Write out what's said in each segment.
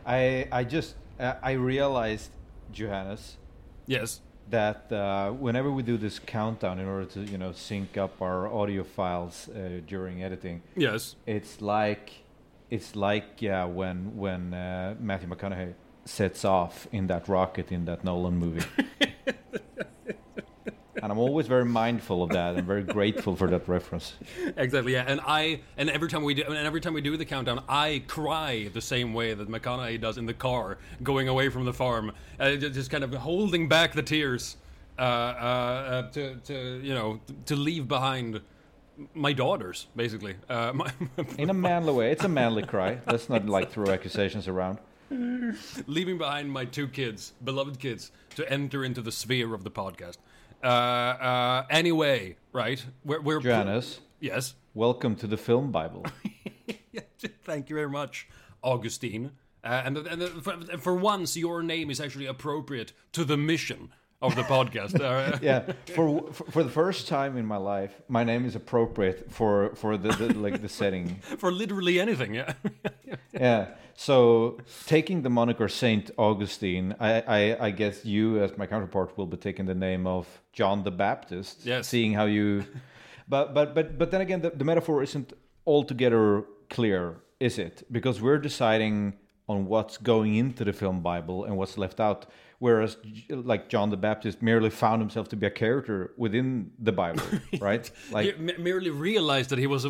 I realized, Johannes, Yes. that whenever we do this countdown in order to sync up our audio files during editing, Yes. it's like when Matthew McConaughey sets off in that rocket in that Nolan movie. And I'm always very mindful of that and very grateful for that reference. Exactly, yeah. And every time we do the countdown, I cry the same way that McConaughey does in the car going away from the farm, just kind of holding back the tears to leave behind my daughters, basically. In a manly way. It's a manly cry. Let's not throw accusations around. Leaving behind my 2 kids, beloved kids, to enter into the sphere of the podcast. Anyway, right? We're Johannes. Yes. Welcome to the Film Bible. Thank you very much, Augustine. And for once, your name is actually appropriate to the mission of the podcast. Yeah, for the first time in my life, my name is appropriate for the setting. For literally anything, yeah. Yeah. So taking the moniker Saint Augustine, I guess you as my counterpart will be taking the name of John the Baptist. Yes. Seeing how you, but then again, the metaphor isn't altogether clear, is it? Because we're deciding on what's going into the film Bible and what's left out. Whereas, John the Baptist merely found himself to be a character within the Bible, right? He merely realized that he was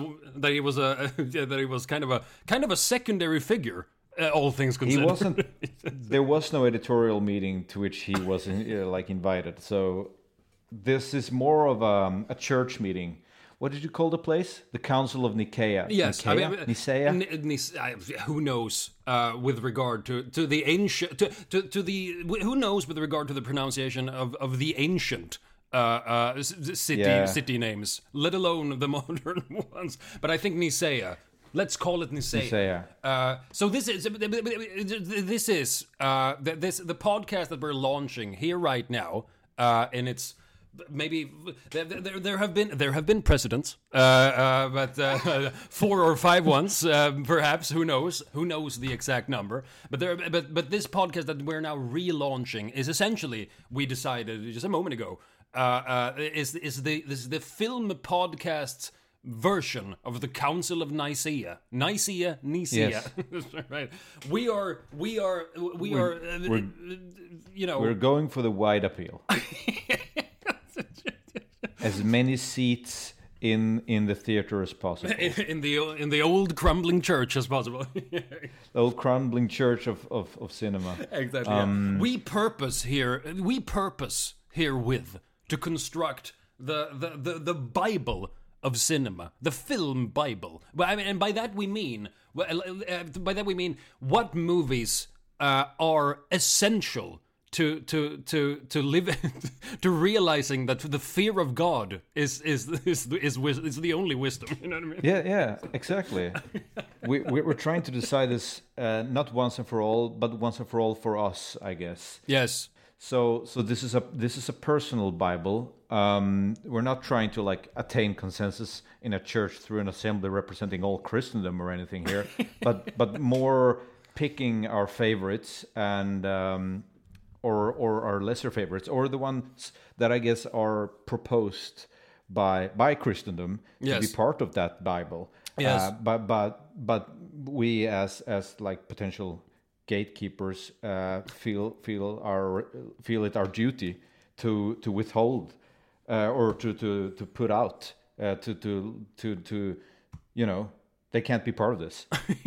kind of a secondary figure. All things considered, he wasn't. There was no editorial meeting to which he was invited. So this is more of a church meeting. What did you call the place? The Council of Nicaea. Yes, Nicaea. Who knows with regard to the ancient who knows with regard to the pronunciation of the ancient city names, let alone the modern ones. But I think Nicaea. Let's call it Nicaea. So this is the podcast that we're launching here right now, and it's. Maybe there have been precedents, but 4 or 5 ones, perhaps. Who knows the exact number? But this podcast that we're now relaunching is essentially, we decided just a moment ago, is the film podcast version of the Council of Nicaea. Nicaea. Yes. Right. We are. We're going for the wide appeal. As many seats in the theater as possible. in the old crumbling church as possible. The old crumbling church of cinema. Exactly. We purpose herewith to construct the Bible of cinema, the film Bible. And by that we mean what movies are essential to live to realizing that the fear of God is the only wisdom. You know what I mean? Yeah, exactly. We're trying to decide this not once and for all, but once and for all for us, I guess. Yes. So this is a personal Bible. We're not trying to attain consensus in a church through an assembly representing all Christendom or anything here, but more picking our favorites and or our lesser favorites, or the ones that I guess are proposed by Christendom to be part of that Bible. Yes. But we as potential gatekeepers feel it our duty to withhold or to put out to they can't be part of this.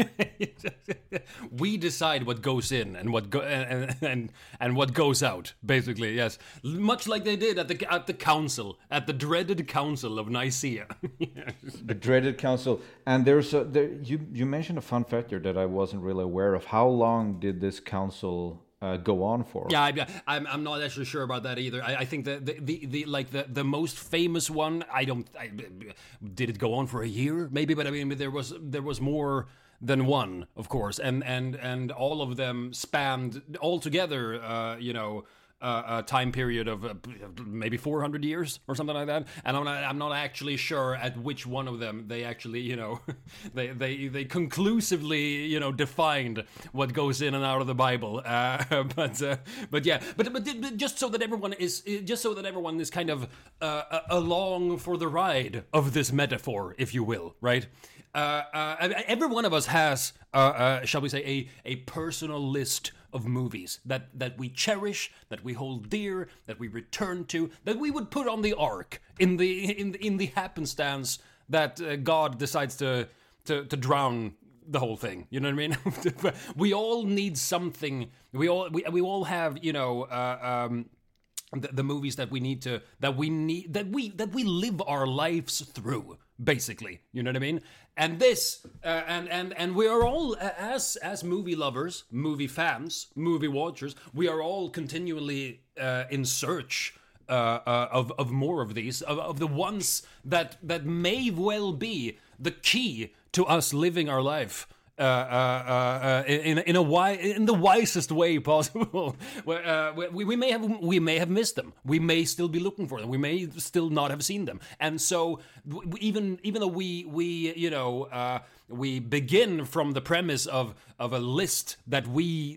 We decide what goes in and what and what goes out. Basically, yes, much like they did at the council, at the dreaded Council of Nicaea. The dreaded council. And you mentioned a fun fact here that I wasn't really aware of. How long did this council go on for? Yeah, I'm not actually sure about that either. I think the most famous one. Did it go on for a year? Maybe, but I mean, there was more than one, of course, and all of them spanned altogether. time period of maybe 400 years or something like that, and I'm not actually sure at which one of them they actually, you know, they conclusively, you know, defined what goes in and out of the Bible. But just so that everyone is kind of along for the ride of this metaphor, if you will, right? Every one of us has, shall we say, a personal list of movies that we cherish, that we hold dear, that we return to, that we would put on the ark in the happenstance that God decides to drown the whole thing. You know what I mean? We all need something. We all have, you know, the movies that we live our lives through, basically. You know what I mean? And this and we are all, as movie lovers, movie fans, movie watchers, we are all continually in search of more of these, of the ones that may well be the key to us living our life in the wisest way possible. We may have missed them. We may still be looking for them. We may still not have seen them. And so even though we you know, we begin from the premise of a list that we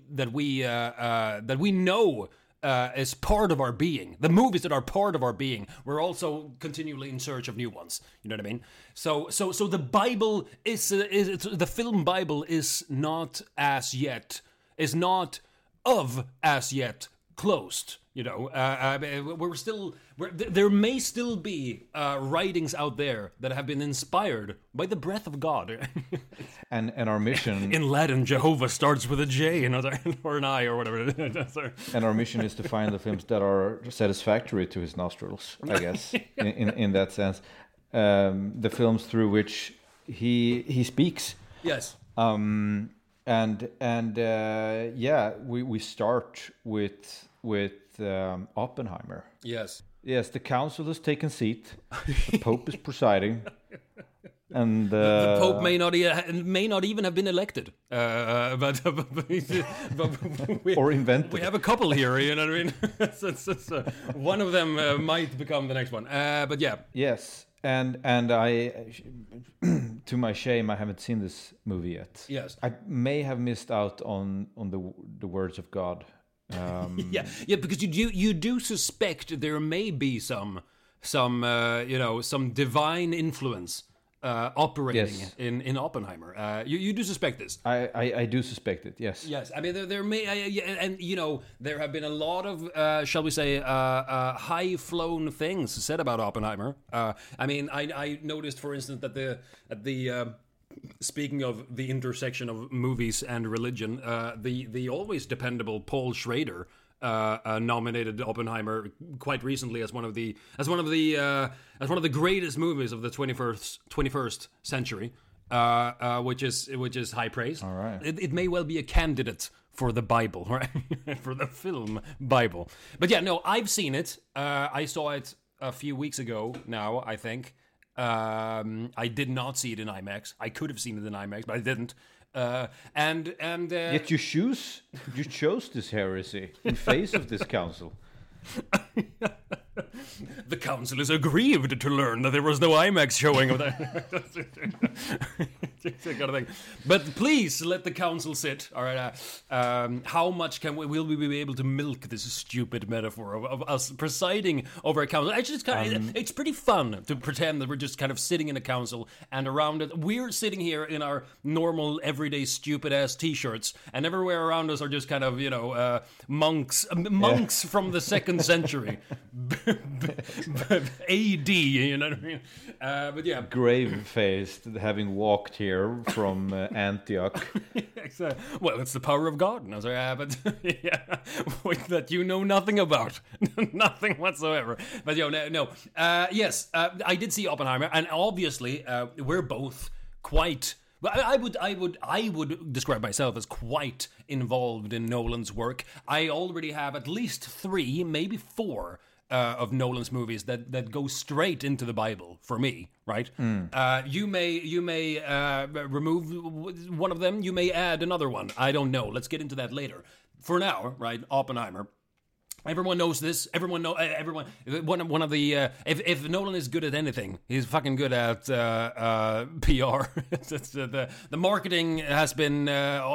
know as part of our being, the movies that are part of our being, we're also continually in search of new ones. You know what I mean? So the Bible is the film Bible is not as yet closed. You know, there may still be writings out there that have been inspired by the breath of God. And our mission in Latin, Jehovah starts with a J or an I or whatever. And our mission is to find the films that are satisfactory to his nostrils, I guess, in that sense. The films through which he speaks. Yes. We start with Oppenheimer. Yes. Yes, the council has taken seat. The Pope is presiding. And the Pope may not even have been elected, but or invented. We have a couple here, you know what I mean? One of them might become the next one. But yeah. Yes, and I, to my shame, I haven't seen this movie yet. Yes, I may have missed out on the words of God. Yeah, because you do suspect there may be some divine influence operating in Oppenheimer. You do suspect this. I do suspect it. Yes. Yes. I mean, there may, and you know, there have been a lot of, shall we say, high-flown things said about Oppenheimer. I mean, I noticed, for instance, that the speaking of the intersection of movies and religion, the always dependable Paul Schrader nominated Oppenheimer quite recently as one of the greatest movies of the 21st century, which is high praise. All right. It may well be a candidate for the Bible, right? For the film Bible. But yeah, no, I've seen it. I saw it a few weeks ago now, I think. I did not see it in IMAX. I could have seen it in IMAX, but I didn't. Yet you chose this heresy in face of this council. The council is aggrieved to learn that there was no IMAX showing of that. Kind of thing. But please let the council sit. All right. How much will we be able to milk this stupid metaphor of us presiding over a council? Actually, it's pretty fun to pretend that we're just kind of sitting in a council, and around it, we're sitting here in our normal, everyday, stupid ass T-shirts, and everywhere around us are just kind of, you know, monks from the 2nd century. AD, you know what I mean? But yeah, grave-faced, having walked here from Antioch. Exactly. Well, it's the power of God. No, sorry, but yeah, that you know nothing about, nothing whatsoever. But no. Yes, I did see Oppenheimer, and obviously, we're both quite. I would describe myself as quite involved in Nolan's work. I already have at least 3, maybe 4. Of Nolan's movies that go straight into the Bible for me, right? You may remove one of them. You may add another one. I don't know. Let's get into that later. For now, right? Oppenheimer. Everyone knows this. Everyone know. Everyone. One of the. If Nolan is good at anything, he's fucking good at PR. The marketing has been,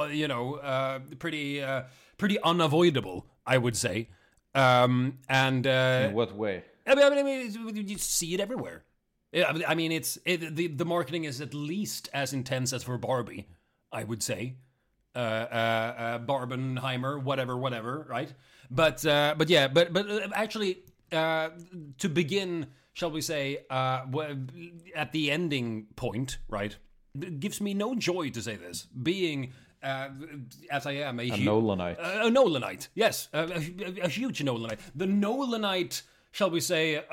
pretty unavoidable, I would say. In what way? I mean, you see it everywhere. I mean, the marketing is at least as intense as for Barbie, I would say. Barbenheimer, whatever, right? But actually, to begin, shall we say, at the ending point, right? It gives me no joy to say this, being as I am a Nolanite. A Nolanite, yes, a huge Nolanite. The Nolanite. Shall we say,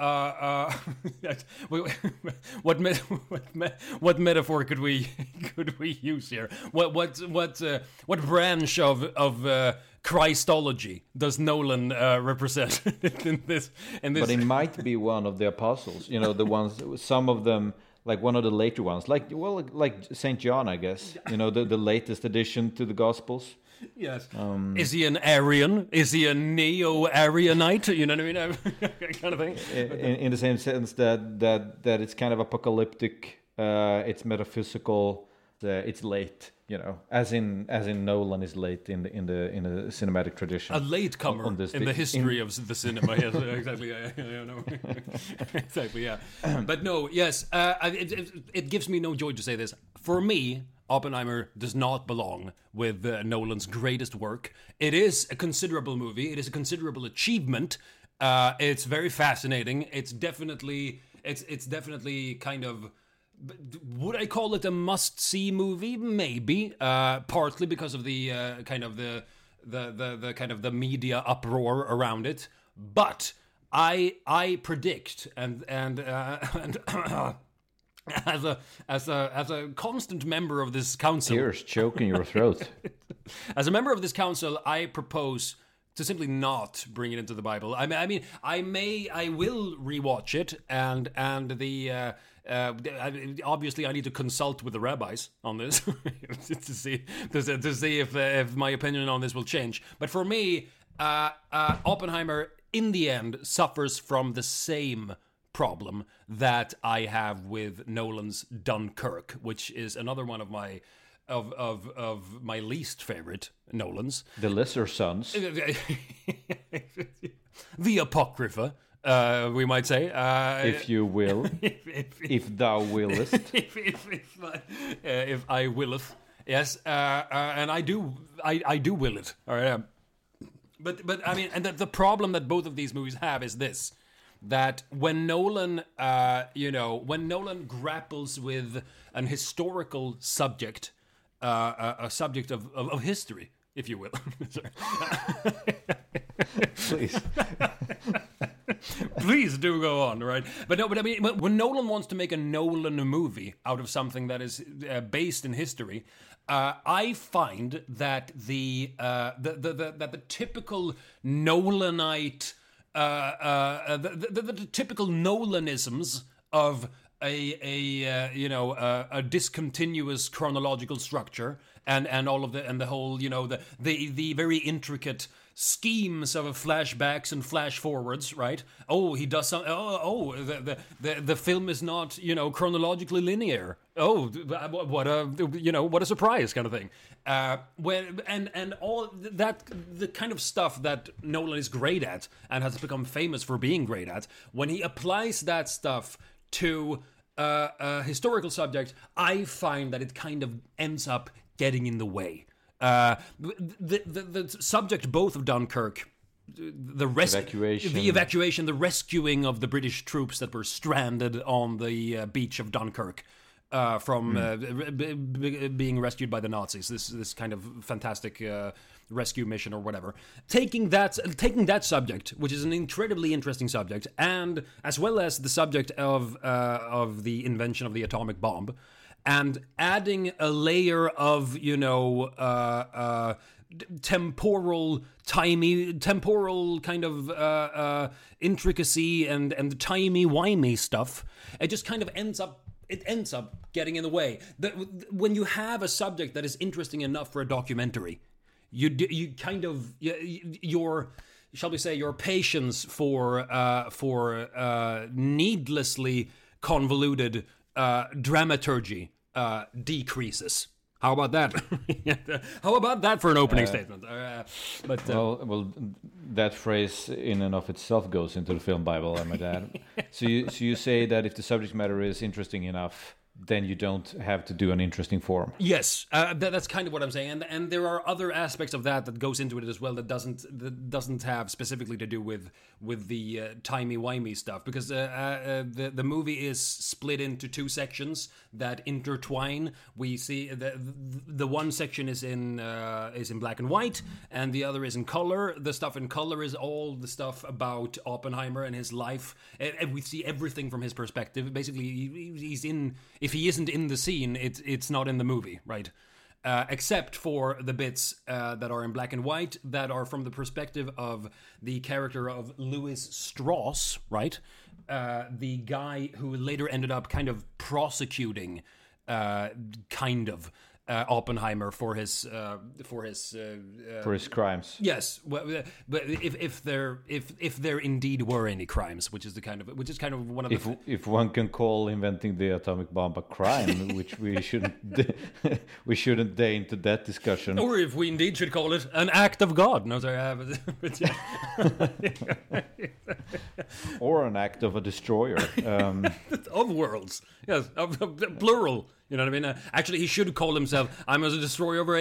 what metaphor could we use here? What branch of Christology does Nolan represent in this? But he might be one of the apostles. The ones. Some of them, like one of the later ones, like Saint John, I guess. The latest addition to the Gospels. Yes. Is he an Arian? Is he a neo-Arianite? You know what I mean? Kind of thing. In the same sense that it's kind of apocalyptic. It's metaphysical. It's late. As in Nolan is late in the cinematic tradition. A latecomer in the history of the cinema. Yes, exactly. I know. Exactly. Yeah. But no. Yes. It gives me no joy to say this. For me, Oppenheimer does not belong with Nolan's greatest work. It is a considerable movie. It is a considerable achievement. It's very fascinating. It's definitely kind of. Would I call it a must-see movie? Maybe, partly because of the kind of the media uproar around it. But I predict and as a constant member of this council, tears choking your throat. As a member of this council, I propose to simply not bring it into the Bible. I will rewatch it, and obviously I need to consult with the rabbis on this to see if my opinion on this will change. But for me, Oppenheimer in the end suffers from the same problem that I have with Nolan's Dunkirk, which is another one of my my least favorite Nolans. The Lesser Sons. The Apocrypha, we might say. If you will. If thou willest. If I willeth. Yes, and I do will it. All right. But I mean, and the problem that both of these movies have is this. That when Nolan, when Nolan grapples with an historical subject, a subject of history, if you will. Please. Please do go on, right? But I mean, when Nolan wants to make a Nolan movie out of something that is based in history, I find that the typical Nolanite. The typical Nolanisms of a discontinuous chronological structure and all of the whole the very intricate schemes of flashbacks and flash forwards, right? Oh, he does some. The film is not chronologically linear. Oh, what a surprise, kind of thing. And all that, the kind of stuff that Nolan is great at and has become famous for being great at, when he applies that stuff to a historical subject, I find that it kind of ends up getting in the way. The subject both of Dunkirk, the evacuation, the rescuing of the British troops that were stranded on the beach of Dunkirk from being rescued by the Nazis. This kind of fantastic rescue mission or whatever. Taking that subject, which is an incredibly interesting subject, and as well as the subject of the invention of the atomic bomb, and adding a layer of temporal kind of intricacy and timey-wimey stuff, it just kind of ends up getting in the way. When you have a subject that is interesting enough for a documentary, your shall we say, your patience for needlessly convoluted dramaturgy decreases. How about that? How about that for an opening statement? Well, that phrase in and of itself goes into the film Bible, I might add. So you say that if the subject matter is interesting enough, then you don't have to do an interesting form. Yes, that's kind of what I'm saying, and there are other aspects of that goes into it as well that doesn't have specifically to do with the timey-wimey stuff, because the movie is split into two sections that intertwine. We see the one section is in black and white, and the other is in color. The stuff in color is all the stuff about Oppenheimer and his life, and we see everything from his perspective. Basically, he's in. If he isn't in the scene, it's not in the movie, right? Except for the bits that are in black and white, that are from the perspective of the character of Louis Strauss, right? The guy who later ended up kind of prosecuting, Oppenheimer for his crimes. Yes, well, but if there indeed were any crimes, which is kind of one of the if one can call inventing the atomic bomb a crime, which we shouldn't deign to that discussion, or if we indeed should call it an act of God. No, sorry, but yeah. or an act of a destroyer of worlds. Yes, of plural. You know what I mean? Actually, he should call himself, I'm the destroyer of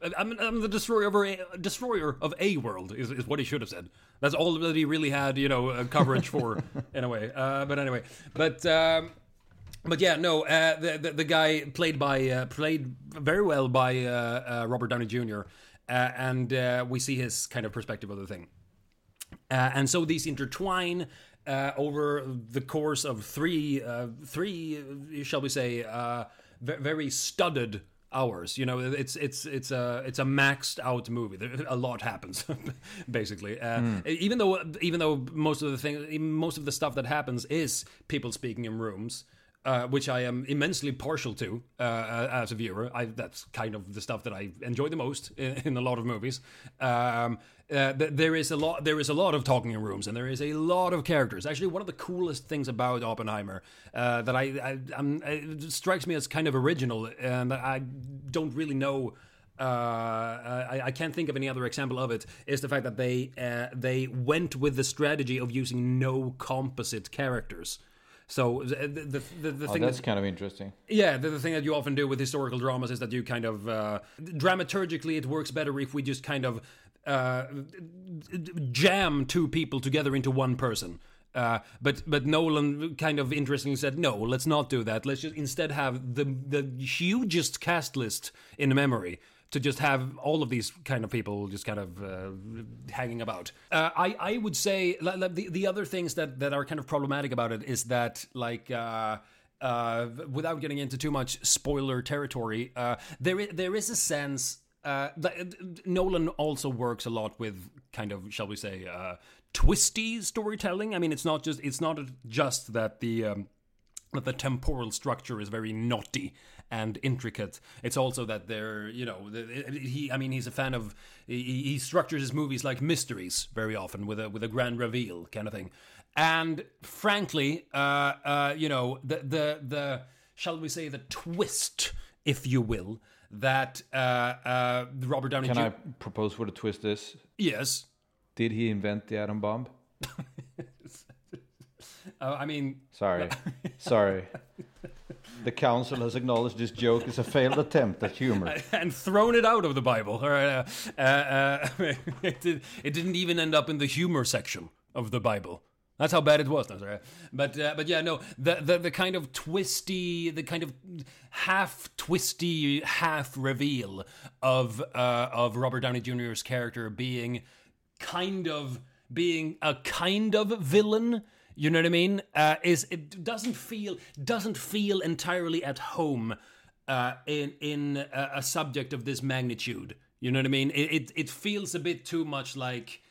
of a world, is what he should have said. That's all that he really had, coverage for, in a way. But anyway, but yeah, no, the guy played very well by Robert Downey Jr., and we see his kind of perspective of the thing. And so these intertwine over the course of three, shall we say, very studded hours. It's a maxed out movie. A lot happens, basically. Even though most of the stuff that happens is people speaking in rooms. Which I am immensely partial to as a viewer. That's kind of the stuff that I enjoy the most in a lot of movies. There is a lot of talking in rooms, and there is a lot of characters. Actually, one of the coolest things about Oppenheimer that it strikes me as kind of original, and I don't really know. I can't think of any other example of it. Is the fact that they went with the strategy of using no composite characters. So the thing that's kind of interesting. Yeah, the thing that you often do with historical dramas is that you kind of dramaturgically it works better if we just kind of jam two people together into one person. But Nolan kind of interestingly said, no, let's not do that. Let's just instead have the hugest cast list in memory. To just have all of these kind of people just kind of hanging about. I would say the other things that are kind of problematic about it is that, like, without getting into too much spoiler territory, there is a sense that Nolan also works a lot with kind of, shall we say, twisty storytelling. I mean, it's not just that the temporal structure is very knotty and intricate. It's also that he's a fan of. He structures his movies like mysteries very often with a grand reveal kind of thing. And frankly, the shall we say the twist, if you will, that Robert Downey. Can I propose what a twist is? Yes. Did he invent the atom bomb? I mean... Sorry. The council has acknowledged this joke is a failed attempt at humor. And thrown it out of the Bible. All right, it didn't even end up in the humor section of the Bible. That's how bad it was. No, sorry. But yeah, no, the kind of twisty, the kind of half twisty, half reveal of Robert Downey Jr.'s character being a kind of villain. You know what I mean? It doesn't feel entirely at home in a subject of this magnitude. You know what I mean? It feels a bit too much like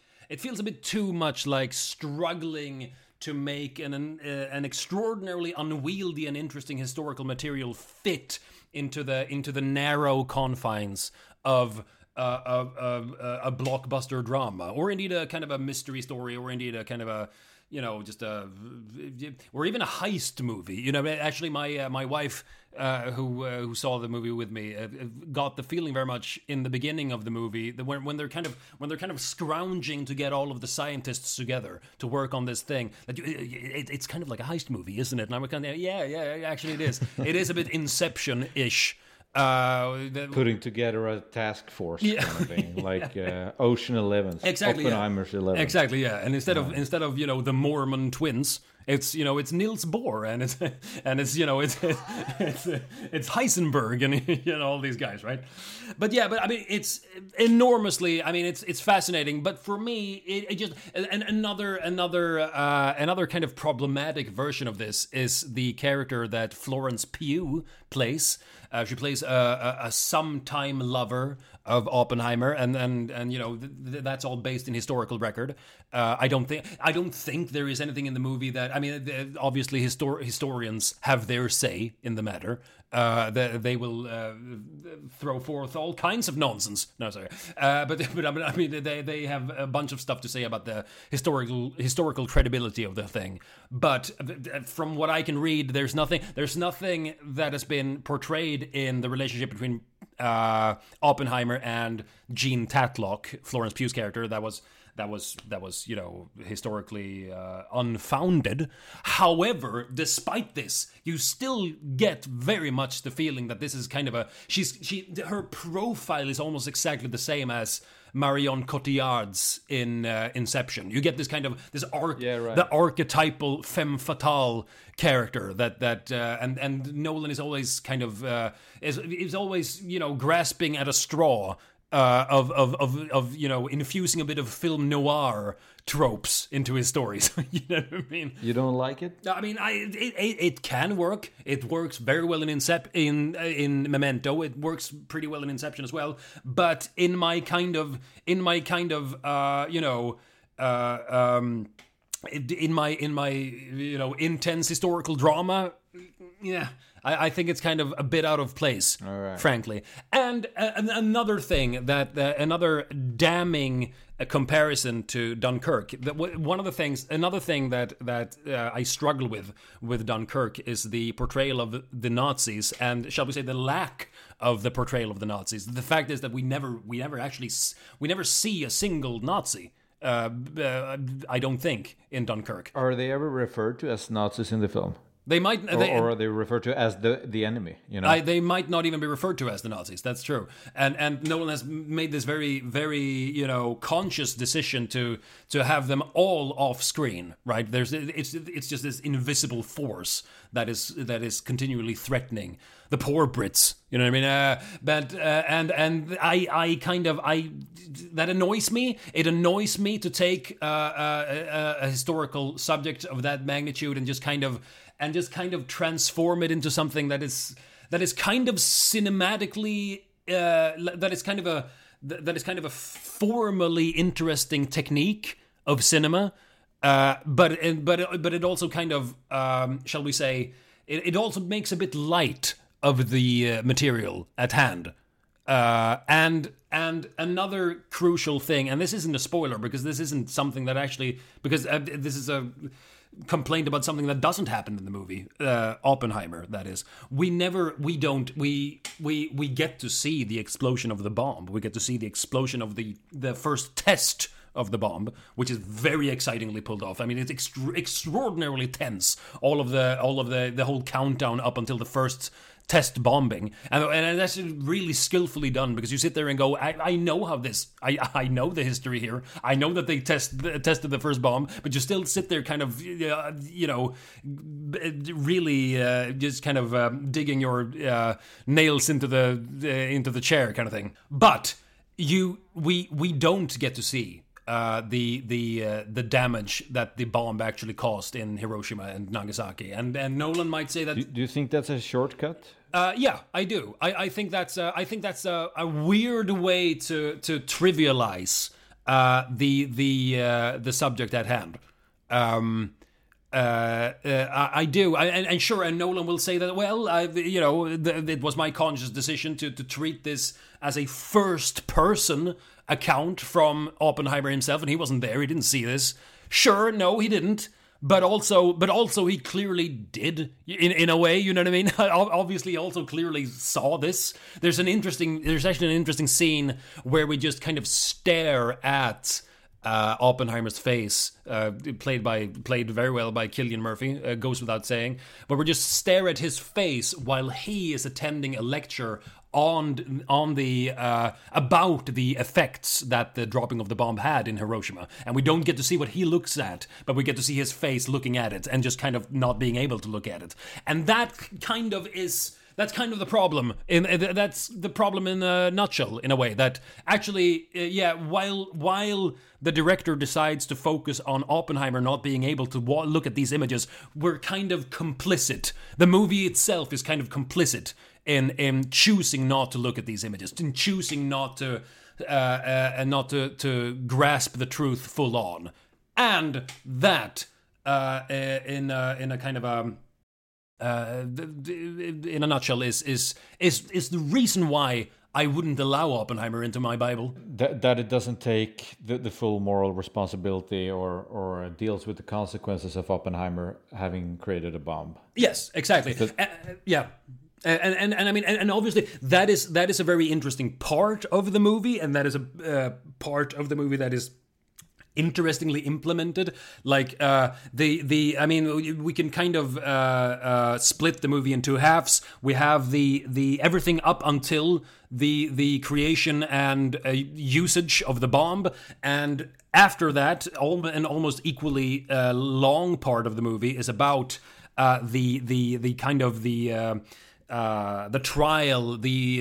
struggling to make an extraordinarily unwieldy and interesting historical material fit into the narrow confines of a blockbuster drama, or indeed a kind of a mystery story, or indeed a kind of a, just or even a heist movie. Actually, my wife, who saw the movie with me, got the feeling very much in the beginning of the movie that when they're kind of scrounging to get all of the scientists together to work on this thing, that it's kind of like a heist movie, isn't it? And I'm kind of yeah, actually it is. It is a bit Inception-ish. Putting together a task force kind of thing, like Ocean 11, exactly, Oppenheimer's 11. Exactly, yeah. And instead of the Mormon twins, it's Niels Bohr and it's Heisenberg and all these guys, right? But I mean, it's enormously. I mean, it's fascinating. But for me, it just another kind of problematic version of this is the character that Florence Pugh plays. She plays a sometime lover of Oppenheimer, and that's all based in historical record. I don't think there is anything in the movie that, I mean, obviously historians have their say in the matter. They will throw forth all kinds of nonsense. No, sorry, but I mean they have a bunch of stuff to say about the historical credibility of the thing. But from what I can read, there's nothing that has been portrayed in the relationship between Oppenheimer and Jean Tatlock, Florence Pugh's character, that was historically unfounded. However, despite this, you still get very much the feeling that this is kind of her profile is almost exactly the same as Marion Cotillard's in Inception. You get this kind of the archetypal femme fatale character that and Nolan is always kind of is always grasping at a straw. Of infusing a bit of film noir tropes into his stories. You know what I mean? You don't like it? I mean, it can work. It works very well in Memento. It works pretty well in Inception as well. But in my kind of in my intense historical drama, yeah, I think it's kind of a bit out of place, frankly. And another thing another damning comparison to Dunkirk. Another thing that I struggle with Dunkirk is the portrayal of the Nazis, and shall we say the lack of the portrayal of the Nazis. The fact is that we never see a single Nazi. I don't think in Dunkirk. Are they ever referred to as Nazis in the film? They might, or are they referred to as the enemy? They might not even be referred to as the Nazis. That's true. And Nolan has made this very, very conscious decision to have them all off screen. Right? It's just this invisible force that is continually threatening the poor Brits. You know what I mean? But that annoys me. It annoys me to take a historical subject of that magnitude and just kind of transform it into something that is kind of cinematically that is kind of a formally interesting technique of cinema, but it also kind of shall we say it also makes a bit light of the material at hand. And another crucial thing, and this isn't a spoiler because this isn't something that actually, because this is a complaint about something that doesn't happen in the movie, Oppenheimer, that is. We get to see the explosion of the bomb. We get to see the explosion of the first test of the bomb, which is very excitingly pulled off. I mean, it's extraordinarily tense. All of the whole countdown up until the first test bombing, and that's really skillfully done, because you sit there and go, I know how this, I know the history here, I know that they tested the first bomb, but you still sit there kind of really just kind of digging your nails into the chair kind of thing. But we don't get to see the damage that the bomb actually caused in Hiroshima and Nagasaki, and Nolan might say that. Do you think that's a shortcut? Yeah, I do. I think that's a weird way to trivialize the subject at hand. I do, and sure, and Nolan will say that. Well, it was my conscious decision to treat this as a first-person account from Oppenheimer himself, and he wasn't there; he didn't see this. Sure, no, he didn't. But also, he clearly did in a way. You know what I mean? Obviously, he also clearly saw this. There's actually an interesting scene where we just kind of stare at Oppenheimer's face, played very well by Cillian Murphy, goes without saying. But we just stare at his face while he is attending a lecture on the about the effects that the dropping of the bomb had in Hiroshima, and we don't get to see what he looks at, but we get to see his face looking at it and just kind of not being able to look at it, and that's kind of the problem. That's the problem in a nutshell, in a way. That actually, while the director decides to focus on Oppenheimer not being able to look at these images, we're kind of complicit. The movie itself is kind of complicit in choosing not to look at these images, in choosing not to grasp the truth full on, and that in a kind of in a nutshell is the reason why I wouldn't allow Oppenheimer into my Bible. That it doesn't take the full moral responsibility or deals with the consequences of Oppenheimer having created a bomb. Yes, exactly. Yeah. And I mean, and obviously that is a very interesting part of the movie, and that is a part of the movie that is interestingly implemented. Like I mean, we can kind of split the movie in two halves. We have the everything up until the creation and usage of the bomb, and after that, an almost equally long part of the movie is about the kind of the trial,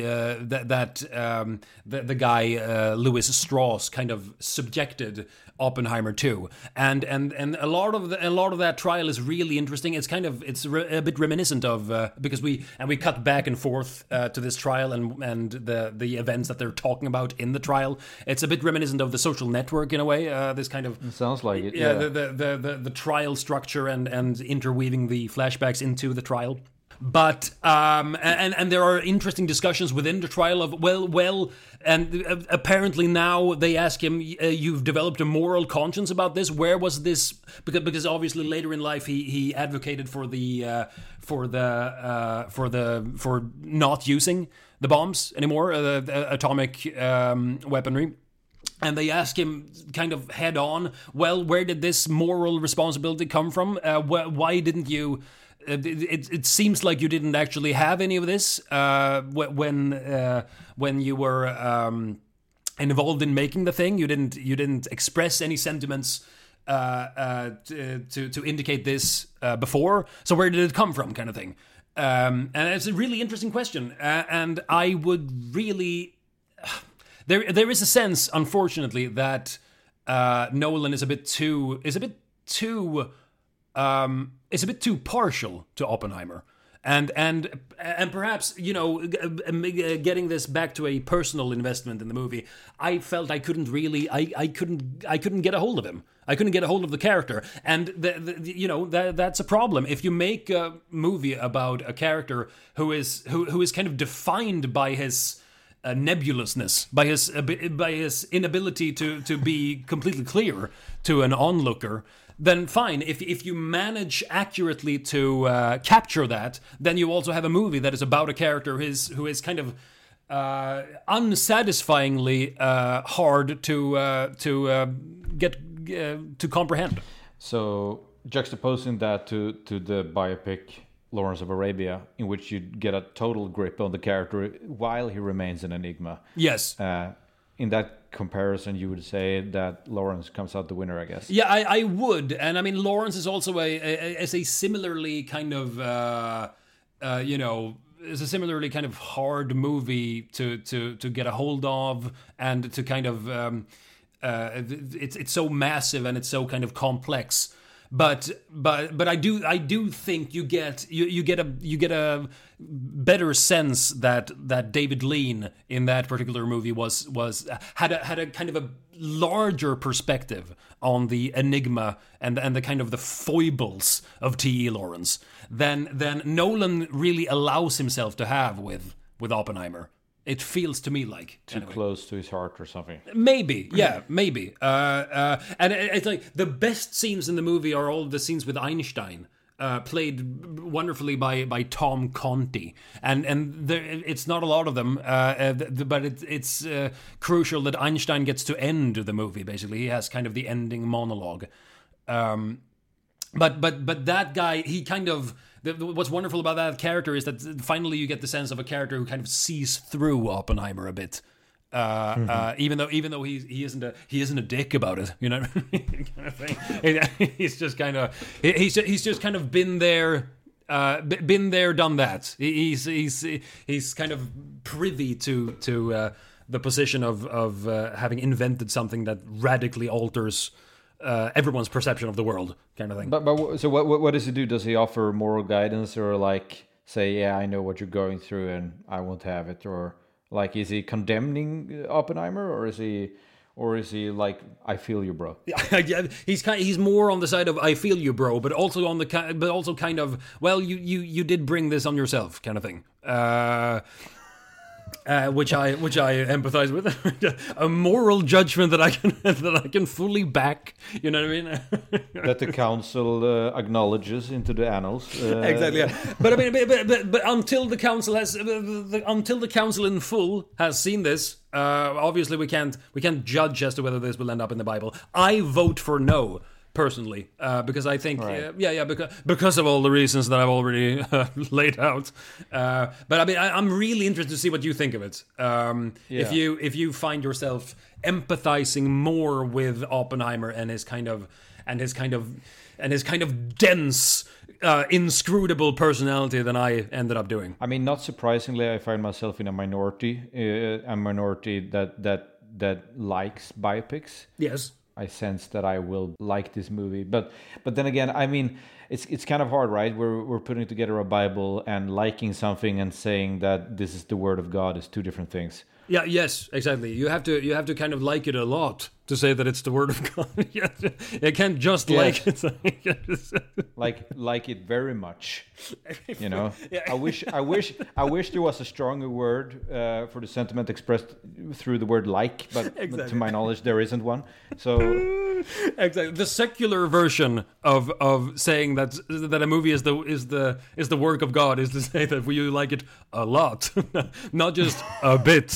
the guy Lewis Strauss kind of subjected Oppenheimer to, and a lot of that trial is really interesting. It's kind of a bit reminiscent of because we cut back and forth to this trial and the events that they're talking about in the trial. It's a bit reminiscent of The Social Network in a way. This kind of it sounds like it. Yeah, the trial structure and interweaving the flashbacks into the trial. But and there are interesting discussions within the trial of well, and apparently now they ask him, "You've developed a moral conscience about this. Where was this?" Because obviously later in life he advocated for not using the bombs anymore, atomic weaponry. And they ask him kind of head on, well, where did this moral responsibility come from? Why didn't you? It seems like you didn't actually have any of this when you were involved in making the thing. You didn't express any sentiments to indicate this before. So where did it come from, kind of thing? And it's a really interesting question. And I would really there is a sense, unfortunately, that Nolan is a bit too partial to Oppenheimer, and perhaps, you know, getting this back to a personal investment in the movie, I felt I couldn't get a hold of him. I couldn't get a hold of the character, and that's a problem. If you make a movie about a character who is kind of defined by his nebulousness, by his inability to be completely clear to an onlooker, then fine. If you manage accurately to capture that, then you also have a movie that is about a character who is kind of unsatisfyingly hard to get to comprehend. So juxtaposing that to the biopic Lawrence of Arabia, in which you get a total grip on the character while he remains an enigma. Yes. In that comparison, you would say that Lawrence comes out the winner, I guess. Yeah, I would. And I mean, Lawrence is also a similarly kind of, is a similarly kind of hard movie to get a hold of, and to kind of, it's so massive and it's so kind of complex. but I do think you get a better sense that David Lean in that particular movie had a kind of a larger perspective on the enigma and the kind of the foibles of T.E. Lawrence than Nolan really allows himself to have with Oppenheimer. It feels to me like too close to his heart or something. Maybe, yeah, maybe. And it's like the best scenes in the movie are all the scenes with Einstein, played wonderfully by Tom Conti, and it's not a lot of them, but it's crucial that Einstein gets to end the movie. Basically, he has kind of the ending monologue. But that guy, he kind of. What's wonderful about that character is that finally you get the sense of a character who kind of sees through Oppenheimer a bit, even though he isn't a dick about it, you know, kind of thing. He's just kind of been there, done that. He's kind of privy to the position of having invented something that radically alters everyone's perception of the world, kind of thing. But so what does he do? Does he offer moral guidance, or like say, yeah, I know what you're going through and I won't have it, or like is he condemning Oppenheimer, or is he like, I feel you, bro? Yeah, he's more on the side of I feel you, bro, but also kind of, well, you did bring this on yourself, kind of thing. Which I empathize with. A moral judgment that I can fully back. You know what I mean? That the council acknowledges into the annals. Exactly. Yeah. But I mean, but until the council until the council in full has seen this, obviously we can't judge as to whether this will end up in the Bible. I vote for no. Personally, because I think, right. Because of all the reasons that I've already laid out. But I mean, I'm really interested to see what you think of it. If you find yourself empathizing more with Oppenheimer and his kind of dense, inscrutable personality than I ended up doing. I mean, not surprisingly, I find myself in a minority that likes biopics. Yes. I sense that I will like this movie, but then again, I mean, it's kind of hard, right? We're putting together a Bible, and liking something and saying that this is the Word of God is two different things. Yeah. Yes. Exactly. You have to kind of like it a lot to say that it's the Word of God. You can't just like it. like it very much. You know. Yeah. I wish there was a stronger word for the sentiment expressed through the word like, but to my knowledge there isn't one. So exactly, the secular version of saying that a movie is the work of God is to say that you like it a lot, not just a bit.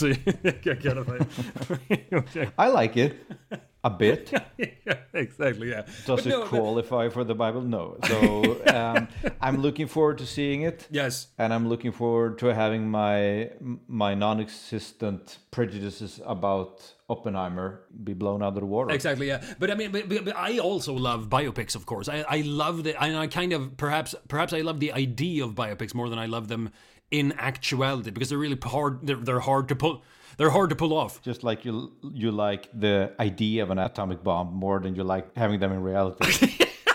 I like it. A bit. Yeah, exactly, yeah. Does it qualify for the Bible? No. So I'm looking forward to seeing it. Yes. And I'm looking forward to having my non-existent prejudices about Oppenheimer be blown out of the water. Exactly, yeah. But I mean, but I also love biopics, of course. I love it, and I kind of perhaps I love the idea of biopics more than I love them in actuality, because they're really hard. They're hard to pull. They're hard to pull off. Just like you like the idea of an atomic bomb more than you like having them in reality.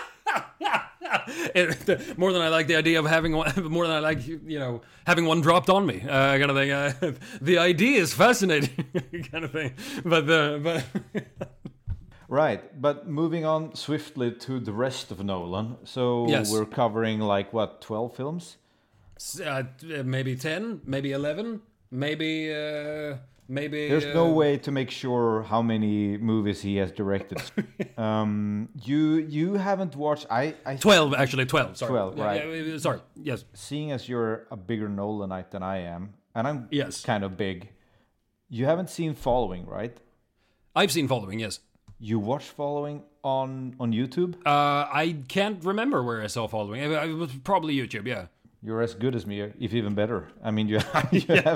More than I like the idea of having one. More than I like, having one dropped on me, kind of thing. The idea is fascinating, kind of thing. But. Right, but moving on swiftly to the rest of Nolan. So yes. We're covering 12 films? Maybe 10, maybe 11, maybe. There's no way to make sure how many movies he has directed. You haven't watched. 12 actually. 12. Sorry. 12. Right. Sorry. Yes. Seeing as you're a bigger Nolanite than I am, and I'm kind of big, you haven't seen Following, right? I've seen Following. Yes. You watched Following on YouTube? I can't remember where I saw Following. It was probably YouTube. Yeah. You're as good as me, if even better. I mean, you have...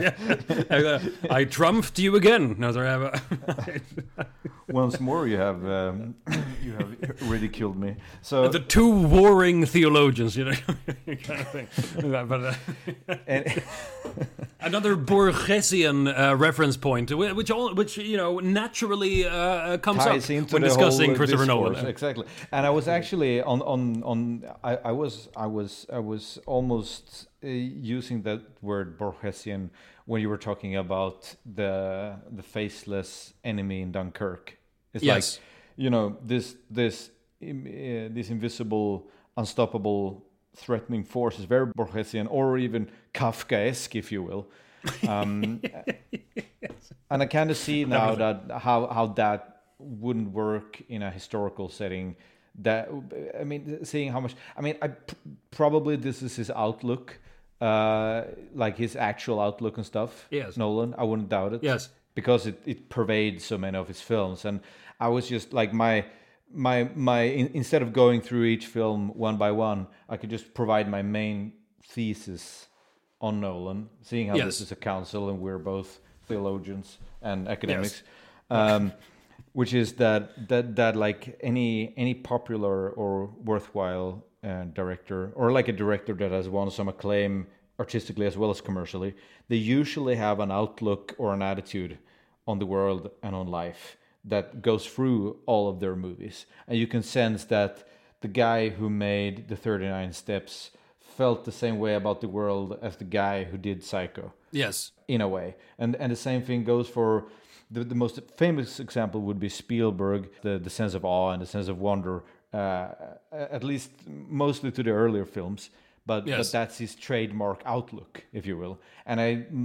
I trumped you again. No, sorry, Once more, you have ridiculed me. So the two warring theologians, kind of thing. Another Borgesian reference point, which naturally comes up ties into when the discussing whole Christopher discourse. Nolan. Exactly. And I was actually I was almost using that word Borgesian when you were talking about the faceless enemy in Dunkirk. It's Yes. like, this invisible, unstoppable, threatening force is very Borgesian, or even Kafkaesque, if you will. And I kind of see now that how that wouldn't work in a historical setting. That, I mean, seeing how much, I mean, probably this is his outlook, like his actual outlook and stuff. Yes. Nolan, I wouldn't doubt it. Yes. Because it pervades so many of his films, and I was just like instead of going through each film one by one, I could just provide my main thesis on Nolan, seeing how this is a council and we're both theologians and academics, which is that like any popular or worthwhile director, or like a director that has won some acclaim artistically as well as commercially, they usually have an outlook or an attitude on the world and on life that goes through all of their movies. And you can sense that the guy who made the 39 Steps felt the same way about the world as the guy who did Psycho. Yes. In a way. And the same thing goes for the most famous example would be Spielberg, the sense of awe and the sense of wonder, at least mostly to the earlier films. But that's his trademark outlook, if you will. And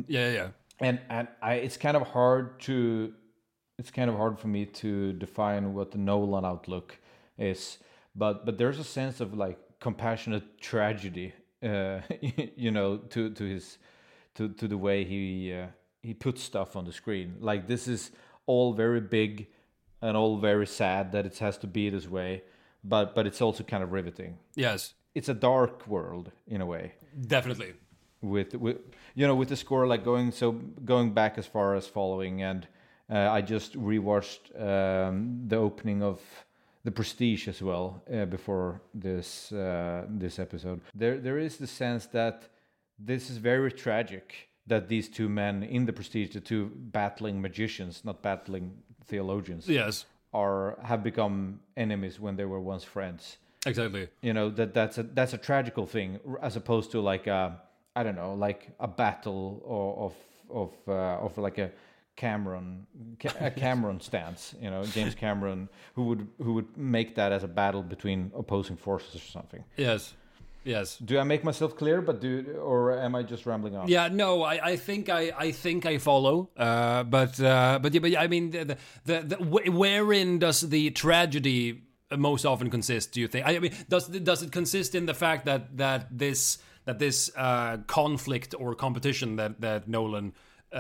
it's kind of hard for me to define what the Nolan outlook is, but there's a sense of like compassionate tragedy, to the way he puts stuff on the screen. Like, this is all very big and all very sad that it has to be this way, but it's also kind of riveting. Yes, it's a dark world in a way. Definitely. With the score, like going back as far as Following, and I just rewatched the opening of The Prestige as well before this episode. There is the sense that this is very tragic, that these two men in The Prestige, the two battling magicians, not battling theologians, have become enemies when they were once friends. Exactly. That's a tragical thing, as opposed to like a battle of like a Cameron stance, James Cameron, who would make that as a battle between opposing forces or something. Yes. Do I make myself clear? Or am I just rambling on? Yeah, no, I think I follow. But I mean, wherein does the tragedy most often consist? Do you think? I mean, does it consist in the fact that this conflict or competition that Nolan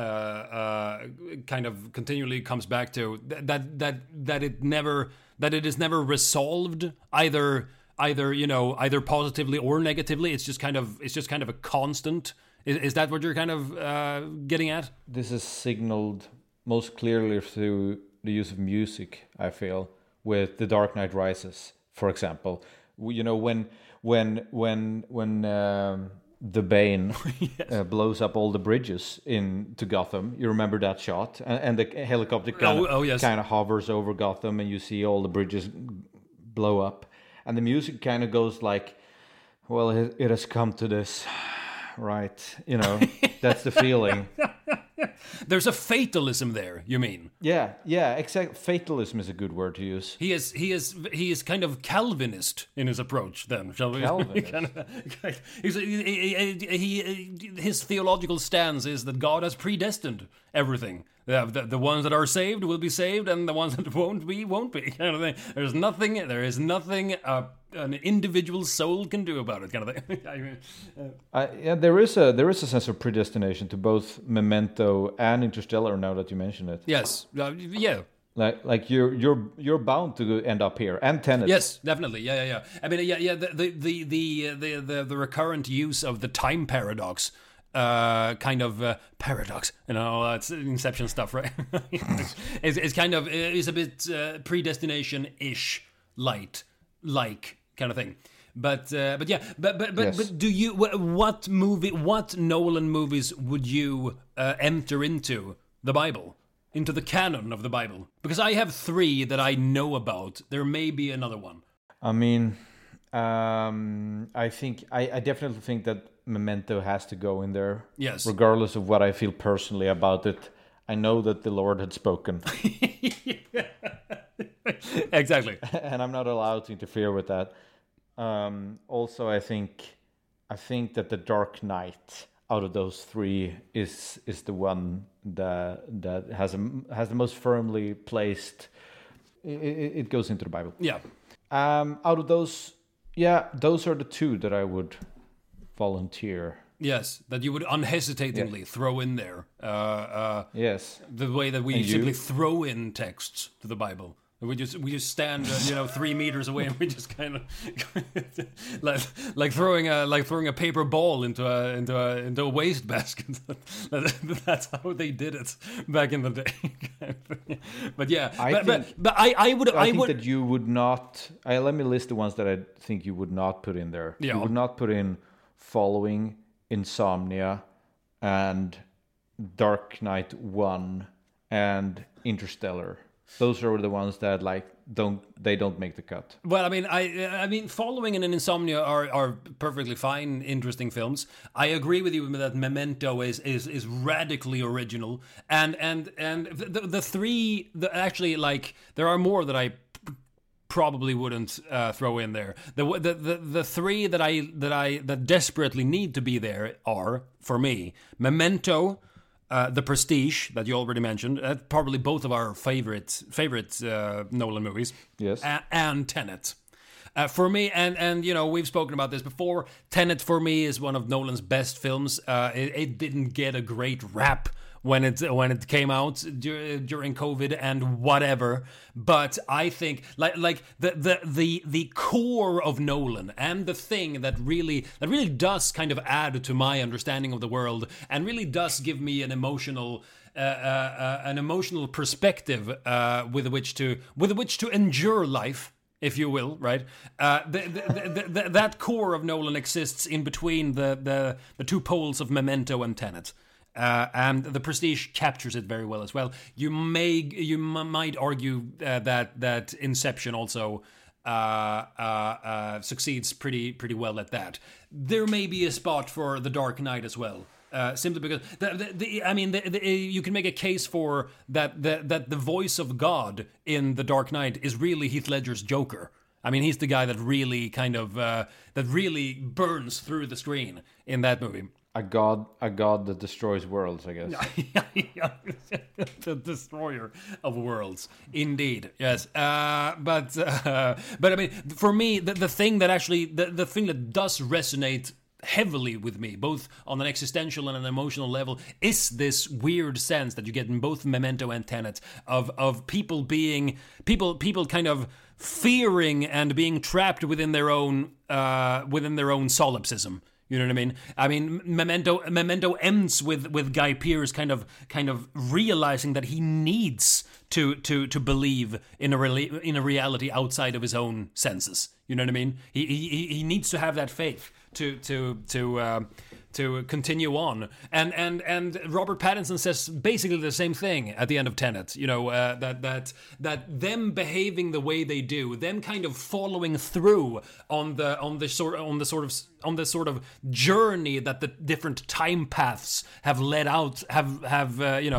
kind of continually comes back to, that it is never resolved either positively or negatively? It's just kind of a constant. Is that what you're kind of getting at? This is signaled most clearly through the use of music, I feel, with The Dark Knight Rises, for example. When the Bane blows up all the bridges into Gotham. You remember that shot? And the helicopter kind of hovers over Gotham, and you see all the bridges blow up. And the music kind of goes like, well, it has come to this, right? That's the feeling. There's a fatalism there, you mean? Yeah, exactly. Fatalism is a good word to use. He is kind of Calvinist in his approach, then, shall we? His theological stance is that God has predestined everything. The ones that are saved will be saved, and the ones that won't be, kind of thing. There is nothing an individual soul can do about it, kind of thing. There is a sense of predestination to both Memento and Interstellar. Now that you mention it, yes, yeah. Like you're bound to end up here, and Tenet. Yes, definitely. Yeah. I mean, the recurrent use of the time paradox. Kind of paradox, it's Inception stuff, right? It's kind of is a bit predestination-ish like kind of thing, But yeah, but Yes. do you what Nolan movies would you enter into the Bible, into the canon of the Bible? Because I have 3 that I know about. There may be another one. I mean, I definitely think that Memento has to go in there. Yes. Regardless of what I feel personally about it, I know that the Lord had spoken, Exactly. and I'm not allowed to interfere with that. Also, I think that the Dark Knight out of those 3 is the one that has the most firmly placed. It goes into the Bible. Yeah. Out of those, those are the 2 that I would volunteer. Yes, that you would unhesitatingly throw in there. Yes. The way that we And simply you? throw in texts to the Bible. We just stand 3 meters away and we just kind of like throwing a paper ball into a wastebasket. That's how they did it back in the day. But yeah, I think that you would not. Let me list the ones that I think you would not put in there. Yeah. You would not put in Following, Insomnia, and Dark Knight 1 and Interstellar. Those are the ones that don't make the cut. Well, I mean, Following and Insomnia are perfectly fine, interesting films. I agree with you that Memento is radically original, and the 3 actually, like, there are more that I probably wouldn't throw in there. The 3 that desperately need to be there are, for me, Memento, The Prestige, that you already mentioned, probably both of our favorite Nolan movies. Yes. And Tenet. For me, and we've spoken about this before, Tenet for me is one of Nolan's best films. It didn't get a great rap when it came out during COVID and whatever, but I think like the core of Nolan and the thing that really does kind of add to my understanding of the world and really does give me an emotional perspective with which to endure life, if you will, right? That core of Nolan exists in between the 2 poles of Memento and Tenet. And The Prestige captures it very well as well. You might argue that Inception also succeeds pretty well at that. There may be a spot for The Dark Knight as well. Simply because you can make a case for that the voice of God in The Dark Knight is really Heath Ledger's Joker. I mean, he's the guy that really kind of that really burns through the screen in that movie. A god that destroys worlds, I guess. The destroyer of worlds, indeed. Yes, but I mean, for me, the thing that actually the thing that does resonate heavily with me, both on an existential and an emotional level, is this weird sense that you get in both Memento and Tenet of people kind of fearing and being trapped within their own solipsism. You know what I mean? I mean, Memento ends with Guy Pearce kind of realizing that he needs to believe in a reality outside of his own senses. You know what I mean? He needs to have that faith to continue on. And Robert Pattinson says basically the same thing at the end of Tenet. You know, that them behaving the way they do, them kind of following through on the sort of journey that the different time paths have led out have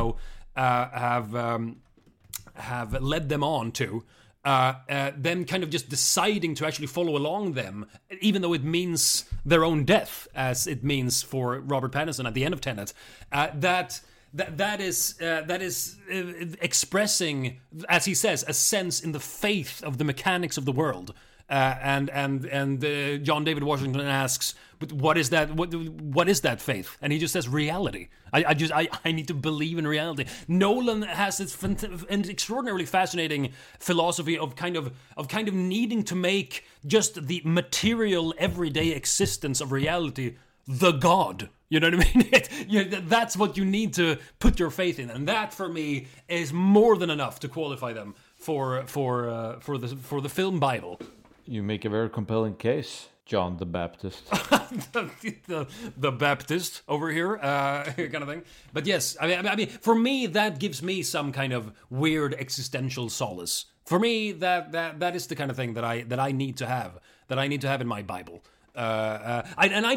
led them on to. Them kind of just deciding to actually follow along them, even though it means their own death, as it means for Robert Pattinson at the end of Tenet. That is expressing, as he says, a sense in the faith of the mechanics of the world. And John David Washington asks, "But what is that? What is that faith?" And he just says, "Reality. I need to believe in reality." Nolan has this an extraordinarily fascinating philosophy of kind of needing to make just the material, everyday existence of reality the God. You know what I mean? That's what you need to put your faith in, and that for me is more than enough to qualify them for the film Bible. You make a very compelling case, John the Baptist. the Baptist over here, kind of thing. But yes, I mean, for me, that gives me some kind of weird existential solace. For me, that is the kind of thing that I need to have, in my Bible. I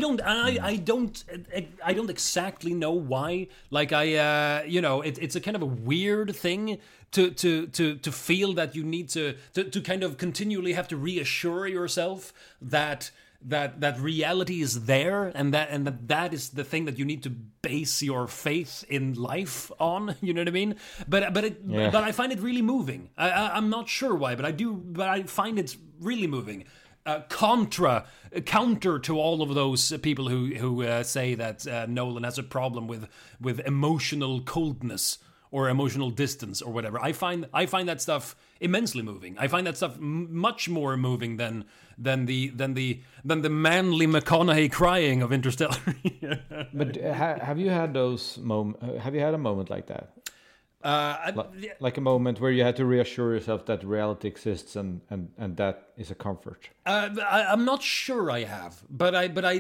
don't exactly know why. Like it's a kind of a weird thing to feel that you need to kind of continually have to reassure yourself that reality is there, and that is the thing that you need to base your faith in life on. You know what I mean? But I find it really moving. I'm not sure why, but I find it really moving. Counter to all of those people who say that Nolan has a problem with emotional coldness or emotional distance or whatever. I find that stuff immensely moving. I find that stuff much more moving than the manly McConaughey crying of Interstellar. But have you had those have you had a moment like that? Like a moment where you had to reassure yourself that reality exists and that is a comfort. I'm not sure I have, but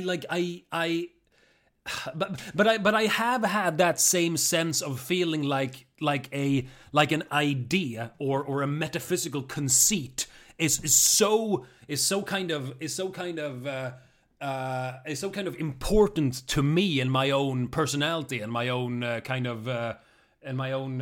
I have had that same sense of feeling like an idea or a metaphysical conceit is so kind of important to me and my own personality and my own and my own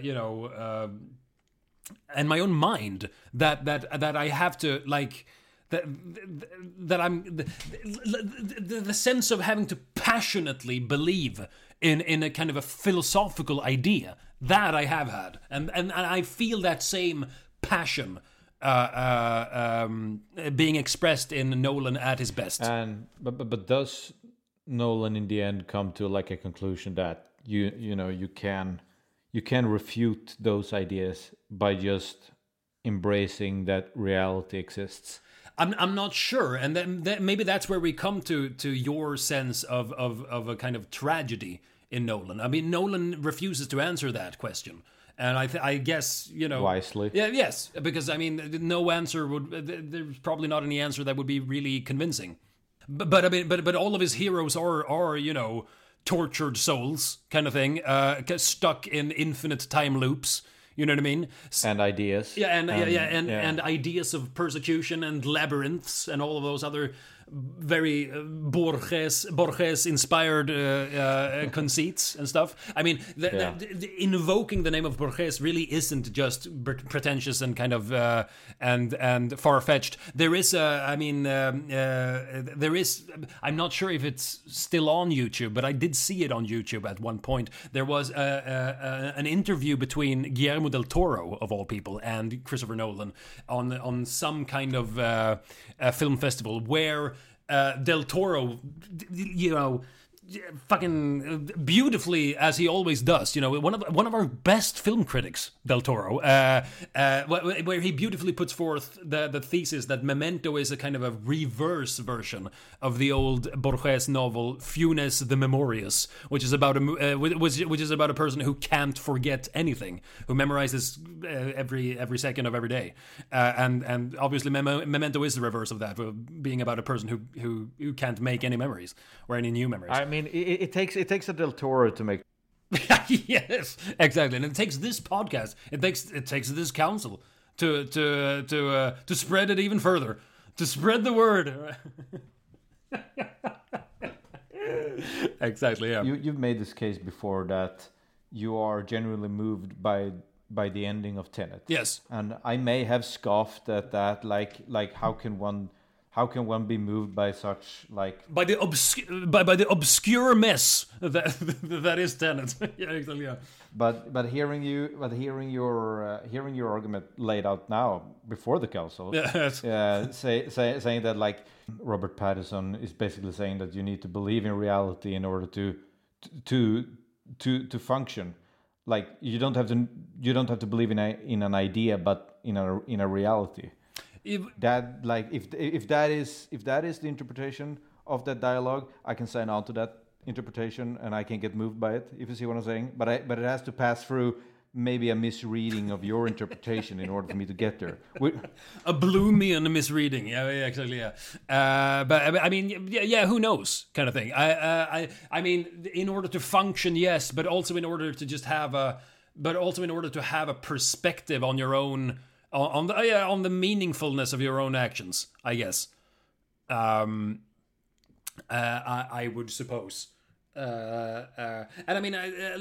and my own mind that I have to like that I'm the sense of having to passionately believe in a kind of a philosophical idea that I have had, and I feel that same passion being expressed in Nolan at his best. And but does Nolan in the end come to like a conclusion that you can refute those ideas by just embracing that reality exists? I'm not sure, and then maybe that's where we come to your sense of a kind of tragedy in Nolan. I mean, Nolan refuses to answer that question, and I guess wisely. Yeah, yes, because I mean, no answer there's probably not any answer that would be really convincing. But I mean, but all of his heroes are tortured souls, kind of thing, stuck in infinite time loops. You know what I mean? And ideas. Yeah, and ideas of persecution and labyrinths and all of those other very Borges-inspired conceits and stuff. I mean, invoking the name of Borges really isn't just pretentious and kind of and far-fetched. There is I'm not sure if it's still on YouTube, but I did see it on YouTube at one point. There was an interview between Guillermo del Toro, of all people, and Christopher Nolan on some kind of film festival where Del Toro, fucking beautifully, as he always does, one of our best film critics, Del Toro, where he beautifully puts forth the thesis that Memento is a kind of a reverse version of the old Borges novel Funes the Memorious, which is about a person who can't forget anything, who memorizes every second of every day, and obviously Memento is the reverse of that, being about a person who can't make any memories or any new memories. I mean, it takes a Del Toro to make. Yes, exactly, and it takes this podcast. It takes this council to spread it even further, to spread the word. Exactly. Yeah. You've made this case before that you are genuinely moved by the ending of Tenet. Yes, and I may have scoffed at that. Like how can one be moved by such by the obscure mess that is Tenet? Yeah, exactly. Yeah. But hearing your argument laid out now before the council, yes. saying that like Robert Pattinson is basically saying that you need to believe in reality in order to function. Like you don't have to believe in an idea, but in a reality. If that is the interpretation of that dialogue, I can sign on to that interpretation and I can get moved by it, if you see what I'm saying. But it has to pass through maybe a misreading of your interpretation in order for me to get there. A Bloomian misreading, yeah, exactly, yeah. But I mean, yeah, who knows, kind of thing. I mean, in order to function, yes, but also in order to just have a perspective on your own, on the meaningfulness of your own actions, I guess. I would suppose. And I mean,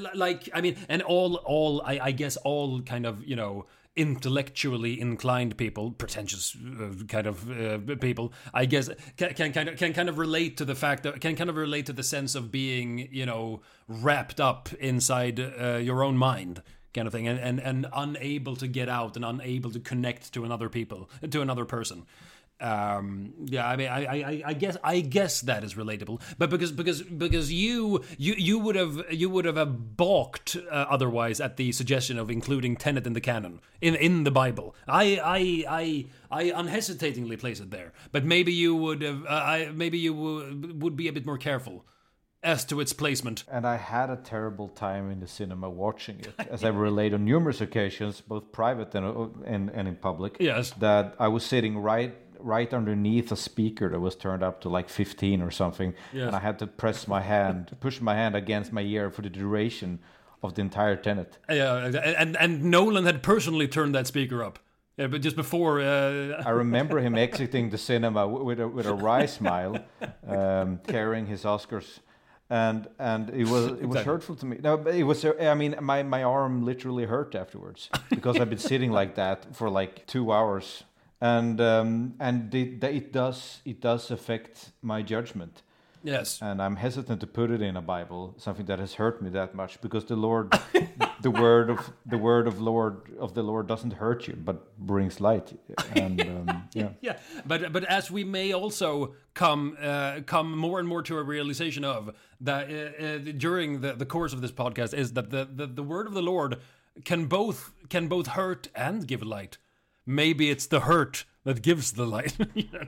I guess all kind of, intellectually inclined people, pretentious kind of people, I guess, can kind of relate to the fact that can kind of relate to the sense of being, wrapped up inside your own mind, kind of thing, and unable to get out and unable to connect to another person. I mean, I guess that is relatable, but because you would have balked otherwise at the suggestion of including Tenet in the canon in the Bible. I unhesitatingly place it there, but maybe you would have would be a bit more careful as to its placement. And I had a terrible time in the cinema watching it, as I relate on numerous occasions, both private and in public. Yes, that I was sitting right underneath a speaker that was turned up to like 15 or something, yes. And I had to push my hand against my ear for the duration of the entire Tenet. Yeah, and Nolan had personally turned that speaker up. Yeah, but just before, I remember him exiting the cinema with a wry smile, carrying his Oscars. And it was hurtful to me. No, but it was. I mean, my arm literally hurt afterwards because I've been sitting like that for like 2 hours, and it does affect my judgment. Yes, and I'm hesitant to put it in a Bible, something that has hurt me that much, because the Lord, the word of the Lord doesn't hurt you, but brings light. And yeah. But as we may also come more and more to a realization of that during the course of this podcast, is that the word of the Lord can both hurt and give light. Maybe it's the hurt that gives the light.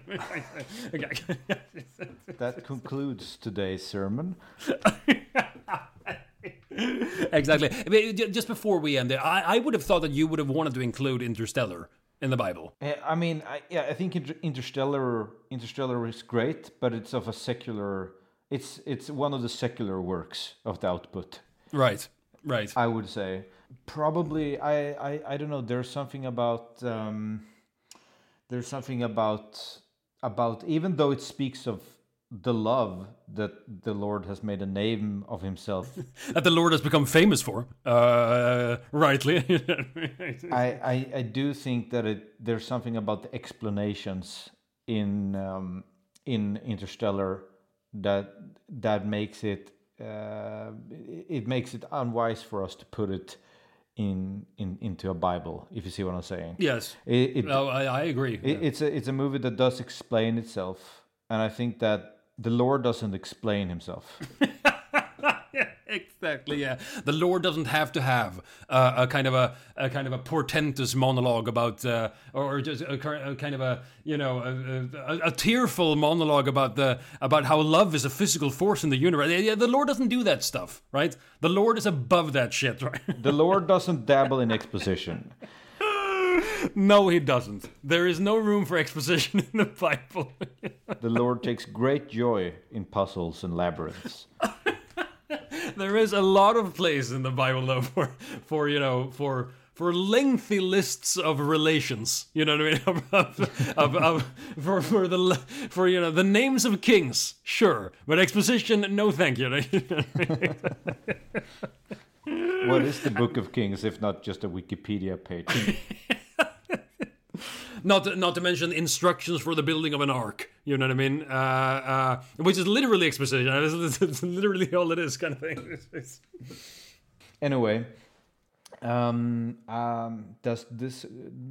That concludes today's sermon. Exactly. I mean, just before we end it, I would have thought that you would have wanted to include Interstellar in the Bible. I mean, I think Interstellar is great, but it's of a secular. It's one of the secular works of the output. Right. I would say probably. I don't know. There's something about. There's something about even though it speaks of the love that the Lord has made a name of himself. That the Lord has become famous for, rightly. I do think that there's something about the explanations in Interstellar that makes it makes it unwise for us to put it into a Bible, if you see what I'm saying. Yes. I agree. It's a movie that does explain itself, and I think that the Lord doesn't explain himself. Exactly. Yeah, the Lord doesn't have to have a kind of a portentous monologue about, or just a kind of a tearful monologue about how love is a physical force in the universe. Yeah, the Lord doesn't do that stuff, right? The Lord is above that shit, right? The Lord doesn't dabble in exposition. No, he doesn't. There is no room for exposition in the Bible. The Lord takes great joy in puzzles and labyrinths. There is a lot of place in the Bible, though, for lengthy lists of relations. You know what I mean? For the names of kings, sure, but exposition, no, thank you. What is the Book of Kings if not just a Wikipedia page? Not to mention instructions for the building of an ark. You know what I mean? Which is literally exposition. It's literally all it is, kind of thing. Anyway, does this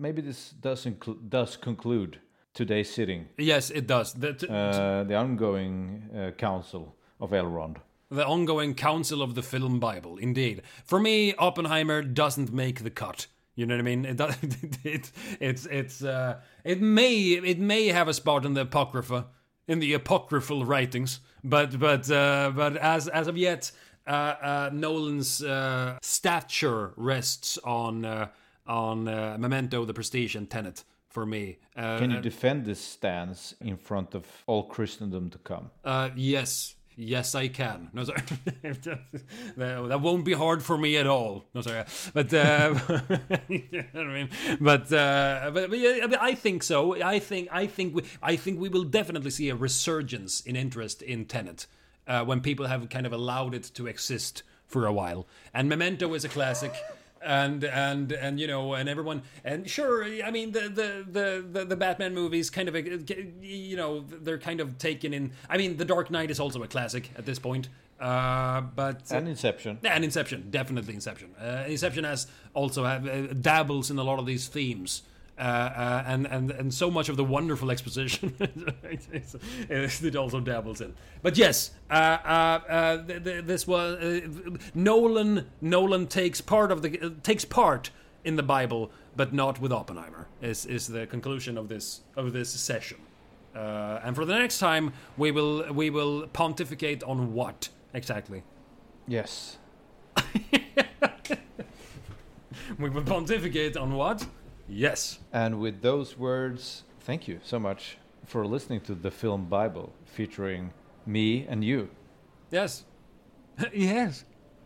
conclude today's sitting? Yes, it does. The ongoing council of Elrond. The ongoing council of the film Bible, indeed. For me, Oppenheimer doesn't make the cut. You know what I mean? It may have a spot in the apocryphal writings, but as of yet, Nolan's stature rests on Memento, The Prestige, and Tenet for me. Can you defend this stance in front of all Christendom to come? Yes. Yes, I can. No, sorry. That won't be hard for me at all. No, sorry. But you know what I mean. But yeah, I think so. I think we will definitely see a resurgence in interest in Tenet when people have kind of allowed it to exist for a while. And Memento is a classic. And you know, and everyone, and sure, I mean the Batman movies kind of, you know, they're kind of taken in. I mean, The Dark Knight is also a classic at this point, but and Inception, definitely Inception. Inception has also dabbles in a lot of these themes. And so much of the wonderful exposition it also dabbles in. But yes, this was Nolan takes part in the Bible, but not with Oppenheimer. Is the conclusion of this session. And for the next time, we will pontificate on what exactly? Yes. We will pontificate on what? Yes. And with those words, thank you so much for listening to the Film Bible featuring me and you. Yes. Yes.